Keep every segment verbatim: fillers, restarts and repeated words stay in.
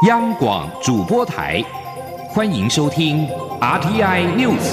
央广主播台，欢迎收听 R T I News。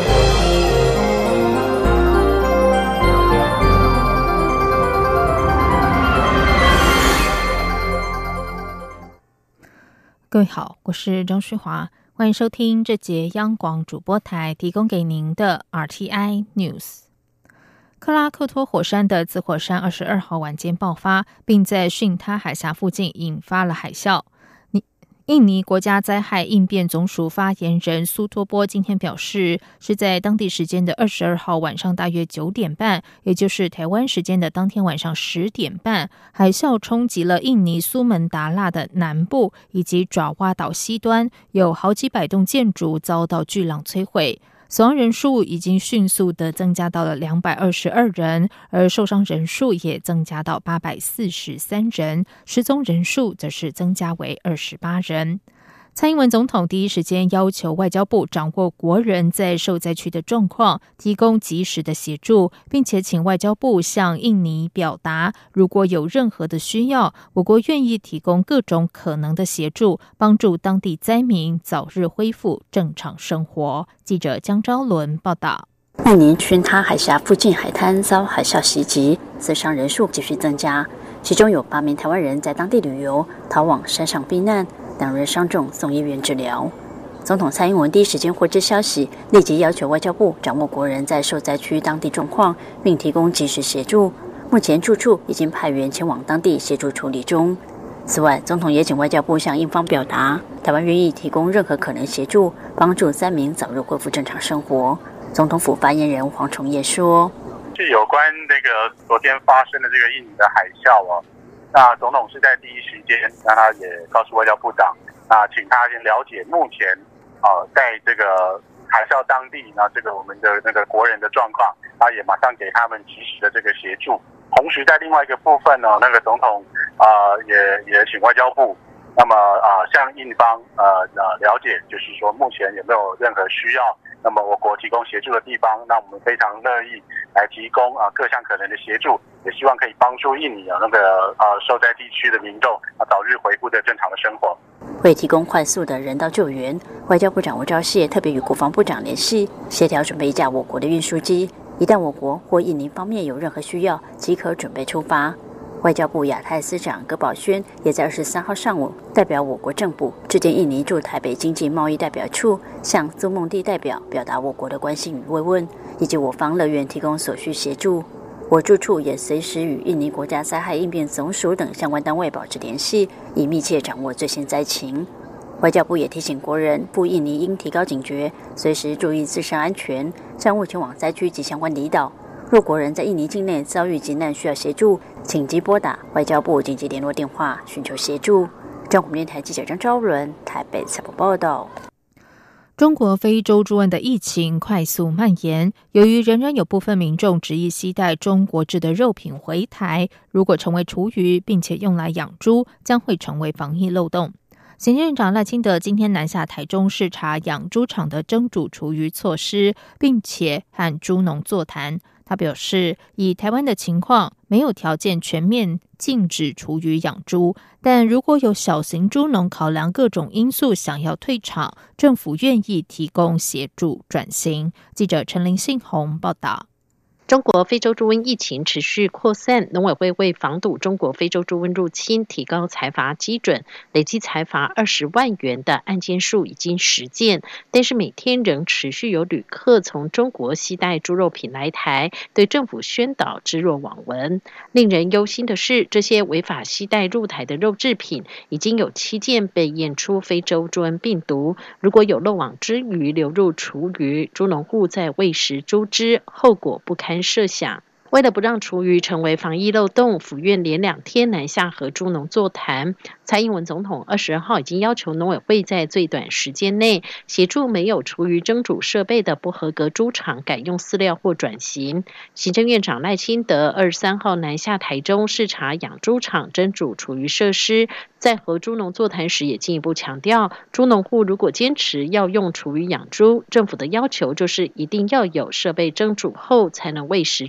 各位好，我是张旭华，欢迎收听这节央广主播台提供给您的 R T I News。克拉克托火山的紫火山二十二号晚间爆发，并在巽他海峡附近引发了海啸。印尼国家灾害应变总署发言人苏托波今天表示，是在当地时间的二十二号晚上大约九点半，也就是台湾时间的当天晚上十点半，海啸冲击了印尼苏门答腊的南部以及爪哇岛西端，有好几百栋建筑遭到巨浪摧毁。死亡人数已经迅速的增加到了两百二十二人，而受伤人数也增加到八百四十三人，失踪人数则是增加为二十八人。蔡英文总统第一时间要求外交部掌握国人在受灾区的状况，提供及时的协助，并且请外交部向印尼表达，如果有任何的需要，我国愿意提供各种可能的协助，帮助当地灾民早日恢复正常生活。记者江昭伦报道。 印尼巽他海峡附近海滩遭海啸袭击，死伤人数继续增加，其中有八名台湾人在当地旅游，逃往山上避难，两人伤重送医院治疗。总统蔡英文第一时间获知消息，立即要求外交部掌握国人在受灾区当地状况，并提供及时协助。目前住处已经派员前往当地协助处理中。此外，总统也请外交部向印方表达，台湾愿意提供任何可能协助，帮助灾民早日恢复正常生活。总统府发言人黄崇业说：“ 是有关那个昨天发生的这个印尼的海啸哦。”那总统是在第一时间，那他也告诉外交部长，那请他先了解目前，呃，在这个海啸当地，那这个我们的那个国人的状况，他也马上给他们及时的这个协助。同时在另外一个部分呢，那个总统啊、呃、也也请外交部，那么啊、呃、向印方呃呃了解，就是说目前有没有任何需要，那么我国提供协助的地方，那我们非常乐意来提供啊、呃、各项可能的协助。也希望可以帮助印尼啊那个呃受灾地区的民众啊早日恢复的正常的生活。 为提供快速的人道救援，外交部长吴钊燮特别与国防部长联系，协调准备一架我国的运输机，一旦我国或印尼方面有任何需要，即可准备出发。外交部亚太司长葛宝轩也在二十三号上午代表我国政府致电印尼驻台北经济贸易代表处，向苏孟蒂代表表达我国的关心与慰问，以及我方乐园提供所需协助。我住处也随时与印尼国家灾害应变总署等相关单位保持联系，以密切掌握最新灾情。外交部也提醒国人赴印尼应提高警觉，随时注意自身安全，暂勿前往灾区及相关离岛。若国人在印尼境内遭遇急难需要协助，请即拨打外交部紧急联络电话寻求协助。中国电台记者张昭伦台北采访报道。 中国非洲猪瘟的疫情快速蔓延，由于仍然有部分民众执意携带中国制的肉品回台，如果成为厨余并且用来养猪，将会成为防疫漏洞。行政院长赖清德今天南下台中视察养猪场的蒸煮厨余措施，并且和猪农座谈。他表示，以台湾的情况，没有条件全面禁止厨余养猪，但如果有小型猪农考量各种因素想要退场，政府愿意提供协助转型。记者陈林信宏报道。 中国非洲猪瘟疫情持续扩散，农委会为防堵中国非洲猪瘟入侵，提高裁罚基准，累计裁罚二十万元的案件数已经实件，但是每天仍持续有旅客从中国携带猪肉品来台，对政府宣导置若罔闻。令人忧心的是，这些违法携带入台的肉制品，已经有七件被验出非洲猪瘟病毒。如果有漏网之鱼流入厨余，猪农户在喂食猪只，后果不堪设想。为了不让厨余成为防疫漏洞，府院连两天南下和猪农座谈。蔡英文总统二十二号已经要求农委会在最短时间内协助没有厨余蒸煮设备的不合格猪场改用饲料或转型。行政院长赖清德二十三号南下台中视察养猪场蒸煮厨余设施，在和猪农座谈时也进一步强调，猪农户如果坚持要用厨余养猪，政府的要求就是一定要有设备蒸煮后才能喂食猪只。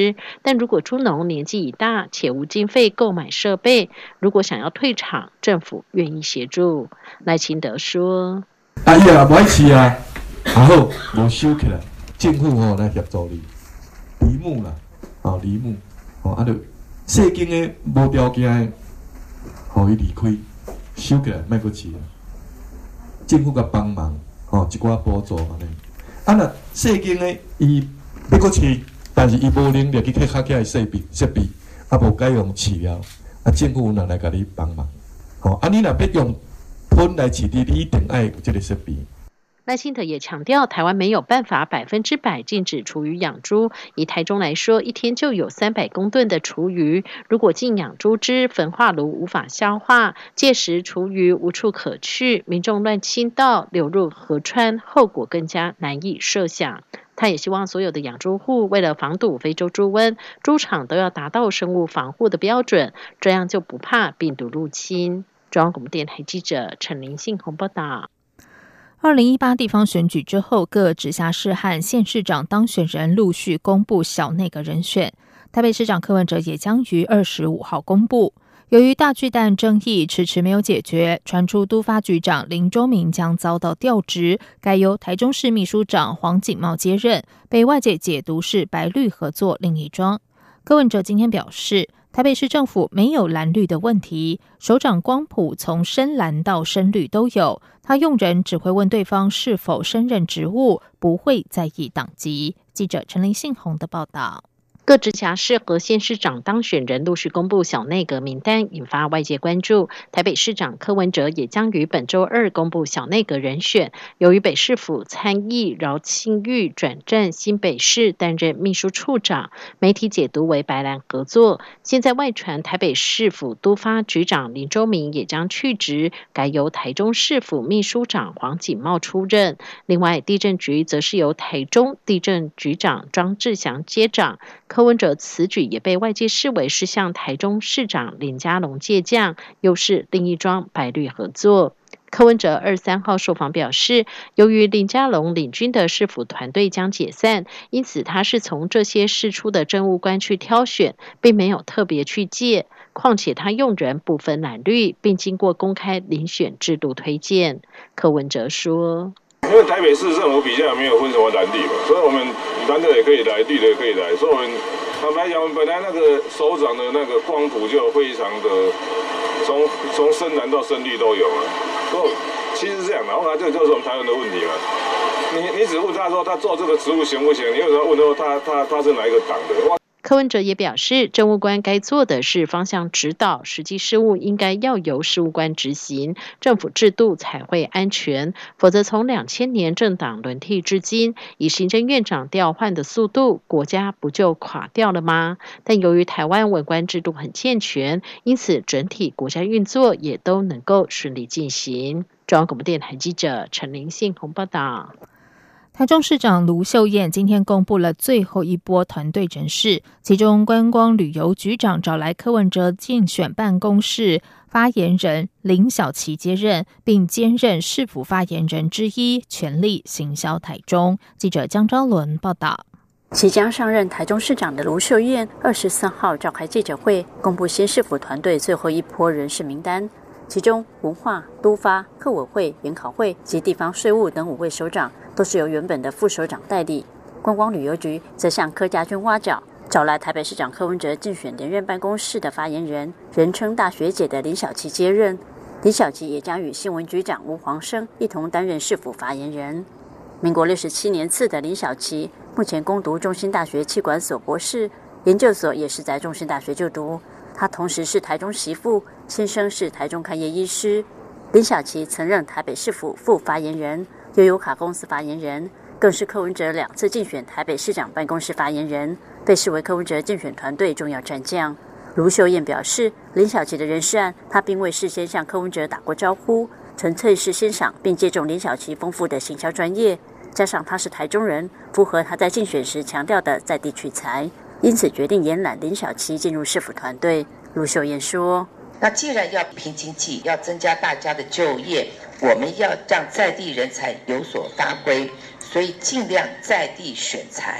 支。但如果猪农年纪已大且无经费购买设备，如果想要退场，政府愿意协助。赖清德说：“ 啊，伊也不爱饲啊，啊好，无收起来，政府吼来协助你，梨木啦，哦梨木，哦啊，就细间的无条件的，互伊离开，收起来，莫阁饲啊。政府甲帮忙，哦一寡补助安尼。啊，若细间的伊要阁饲，但是伊无能力去开较起来设备设备，啊无该用饲料，啊政府若来甲你帮忙，哦啊你若要用喷来饲猪，你一定爱有这个设备。” 赖清德也强调，台湾没有办法百分之百禁止厨余养猪。以台中来说，一天就有三百公吨的厨余，如果禁养猪只，焚化炉无法消化，届时厨余无处可去，民众乱倾倒流入河川，后果更加难以设想。他也希望所有的养猪户为了防堵非洲猪瘟，猪场都要达到生物防护的标准，这样就不怕病毒入侵。中央广播电台记者陈林信宏报道。 二零一八地方选举之后，各直辖市和县市长当选人陆续公布小内阁人选。台北市长柯文哲也将于二十五号公布。由于大巨蛋争议迟迟没有解决，传出都发局长林周明将遭到调职，改由台中市秘书长黄锦茂接任，被外界解读是白绿合作另一桩。柯文哲今天表示，台北市政府没有蓝绿的问题，首长光谱从深蓝到深绿都有，他用人只会问对方是否升任职务，不会在意党籍。记者陈林信宏的报道。 各直辖市和县市长当选人陆续公布小内阁名单，引发外界关注。台北市长柯文哲也将于本周二公布小内阁人选。由于北市府参议饶庆玉转战新北市担任秘书处长，媒体解读为白蓝合作。现在外传台北市府都发局长林周明也将去职，改由台中市府秘书长黄锦茂出任。另外，地震局则是由台中地震局长庄志祥接掌。柯文哲此举也被外界视为是向台中市长林佳龙借将，又是另一桩白绿合作。柯文哲二十三号受访表示，由于林佳龙领军的市府团队将解散，因此他是从这些释出的政务官去挑选，并没有特别去借。况且他用人不分蓝绿，并经过公开遴选制度推荐。柯文哲说， 因为台北市政府比较没有分什么蓝绿嘛，所以我们蓝的也可以来，绿的也可以来。所以我们坦白讲，我们本来那个首长的那个光谱就非常的从从深蓝到深绿都有了。所以其实是这样的，后来这个就是我们台湾的问题嘛。你你只问他说他做这个职务行不行，你为什么问说他他他是哪一个党的？ 柯文哲也表示，政务官该做的是方向指导，实际事务应该要由事务官执行，政府制度才会安全。否则从两千年政党轮替至今，以行政院长调换的速度，国家不就垮掉了吗？但由于台湾文官制度很健全，因此整体国家运作也都能够顺利进行。中央广播电台记者陈林信宏报道。 台中市长卢秀燕今天公布了最后一波团队人事，其中观光旅游局长找来柯文哲竞选办公室发言人林小琪接任，并兼任市府发言人之一，全力行销台中。记者江昭伦报道。 即将上任台中市长的卢秀燕二十四号召开记者会，公布新市府团队最后一波人事名单。其中文化、都发、客委会、研考会及地方税务等五位首长都是由原本的副首长代理。观光旅游局则向柯家军挖角，找来台北市长柯文哲竞选连任办公室的发言人，人称大学姐的林小琪接任。林小琪也将与新闻局长吴黄生一同担任市府发言人。民国六十七年次的林小琪，目前攻读中兴大学企管所博士，研究所也是在中兴大学就读。他同时是台中媳妇，先生是台中开业医师。林小琪曾任台北市府副发言人、悠游卡公司发言人，更是柯文哲两次竞选台北市长办公室发言人，被视为柯文哲竞选团队重要战将。卢秀燕表示，林小琪的人事案，他并未事先向柯文哲打过招呼，纯粹是欣赏并借重林小琪丰富的行销专业，加上他是台中人，符合他在竞选时强调的在地取材。因此决定延揽林小琪进入市府团队。卢秀燕说， 那既然要拼经济，要增加大家的就业，我们要让在地人才有所发挥，所以尽量在地选才，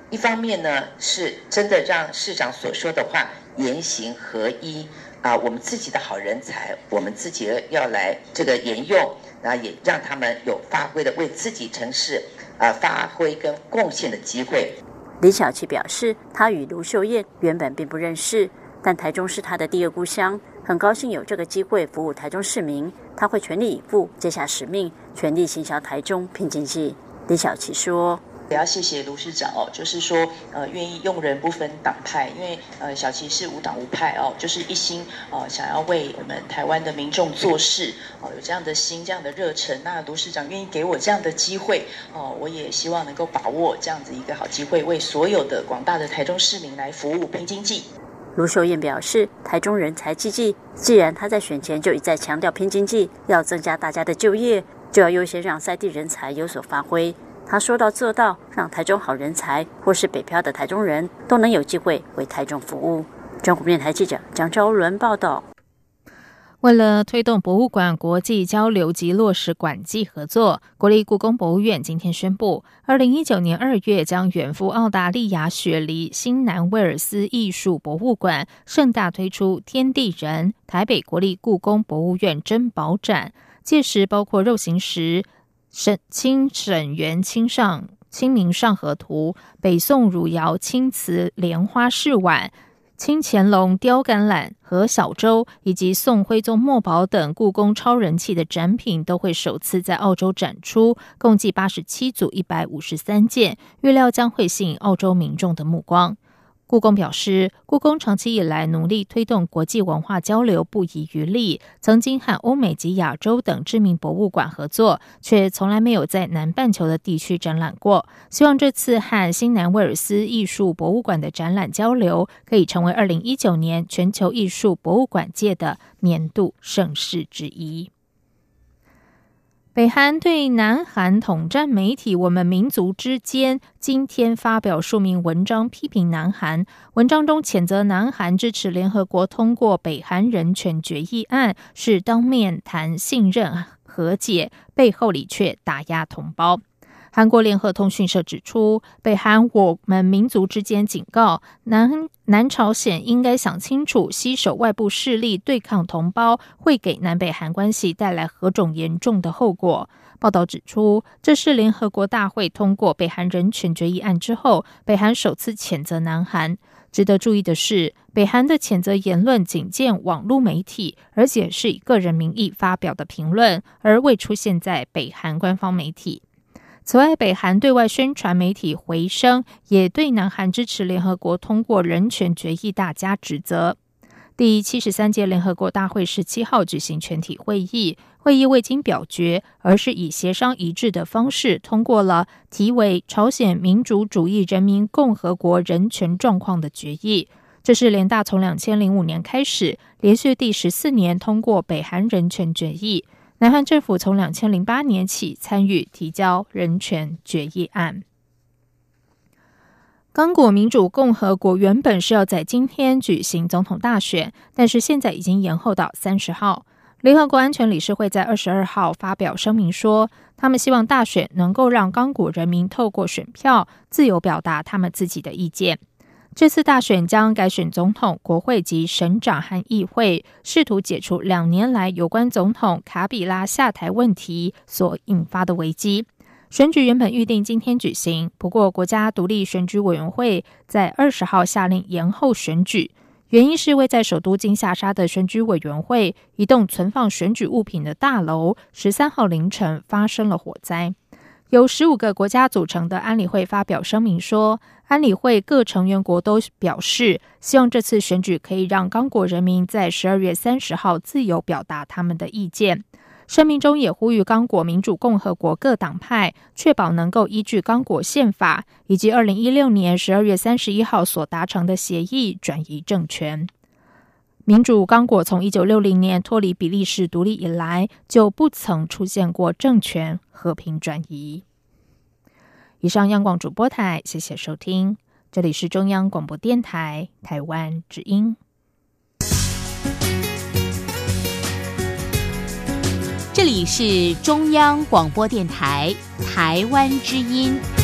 一方面呢，是真的让市长所说的话言行合一啊，我们自己的好人才，我们自己要来这个沿用，然后也让他们有发挥的为自己城市啊发挥跟贡献的机会。 李小琪表示，他与卢秀燕原本并不认识，但台中是他的第二故乡，很高兴有这个机会服务台中市民，他会全力以赴，接下使命，全力行销台中拼经济。李小琪说。 也要谢谢卢市长哦，就是说呃愿意用人不分党派，因为呃小琪是无党无派哦，就是一心呃想要为我们台湾的民众做事哦，有这样的心这样的热忱。那卢市长愿意给我这样的机会哦，我也希望能够把握这样子一个好机会，为所有的广大的台中市民来服务拼经济。 卢秀燕表示，台中人才济济，既然他在选前就一再强调拼经济，要增加大家的就业，就要优先让在地人才有所发挥。他说到做到，让台中好人才或是北漂的台中人都能有机会为台中服务。中国电台记者张昭伦报道。 为了推动博物馆国际交流及落实馆际合作，国立故宫博物院今天宣布，二零一九年二月将远赴澳大利亚雪梨新南威尔斯艺术博物馆盛大推出天地人台北国立故宫博物院珍宝展，届时包括肉形石、沈清沈园清上清明上河图、北宋汝窑青瓷莲花饰碗、清乾隆雕橄榄和小舟，以及宋徽宗墨宝等故宫超人气的展品都会首次在澳洲展出，共计八十七组一百五十三件，预料将会吸引澳洲民众的目光。故宫表示，故宫长期以来努力推动国际文化交流不遗余力，曾经和欧美及亚洲等知名博物馆合作，却从来没有在南半球的地区展览过。希望这次和新南威尔斯艺术博物馆的展览交流，可以成为二零一九年全球艺术博物馆界的年度盛事之一。北韩对南韩统战媒体《我们民族之间》今天发表数名文章，批评南韩。文章中谴责南韩支持联合国通过北韩人权决议案，是当面谈信任和解，背后里却打压同胞。韩国联合通讯社指出，北韩我们民族之间警告南南朝鲜应该想清楚，携手外部势力对抗同胞，会给南北韩关系带来何种严重的后果。报道指出，这是联合国大会通过北韩人权决议案之后，北韩首次谴责南韩。值得注意的是，北韩的谴责言论仅见网络媒体，而且是以个人名义发表的评论，而未出现在北韩官方媒体。此外，北韩对外宣传媒体回声也对南韩支持联合国通过人权决议大加指责。第七十三届联合国大会十七号举行全体会议，会议未经表决，而是以协商一致的方式通过了题为《朝鲜民主主义人民共和国人权状况》的决议。这是联大从两千零五年开始，连续第十四年通过北韩人权决议。南韩政府从两千零八年起参与提交人权决议案。刚果民主共和国原本是要在今天举行总统大选，但是现在已经延后到三十号。联合国安全理事会在二十二号发表声明说，他们希望大选能够让刚果人民透过选票自由表达他们自己的意见。这次大选将改选总统、国会及省长和议会，试图解除两年来有关总统卡比拉下台问题所引发的危机。选举原本预定今天举行，不过国家独立选举委员会在二十号下令延后选举，原因是位在首都金沙沙的选举委员会一栋存放选举物品的大楼十三号凌晨发生了火灾。由十五个国家组成的安理会发表声明说，安理会各成员国都表示，希望这次选举可以让刚果人民在十二月三十号自由表达他们的意见。声明中也呼吁刚果民主共和国各党派确保能够依据刚果宪法以及二零一六年十二月三十一号所达成的协议转移政权。民主刚果从一九六零年脱离比利时独立以来，就不曾出现过政权和平转移。以上央广主播台，谢谢收听，这里是中央广播电台台湾之音。 这里是中央广播电台台湾之音。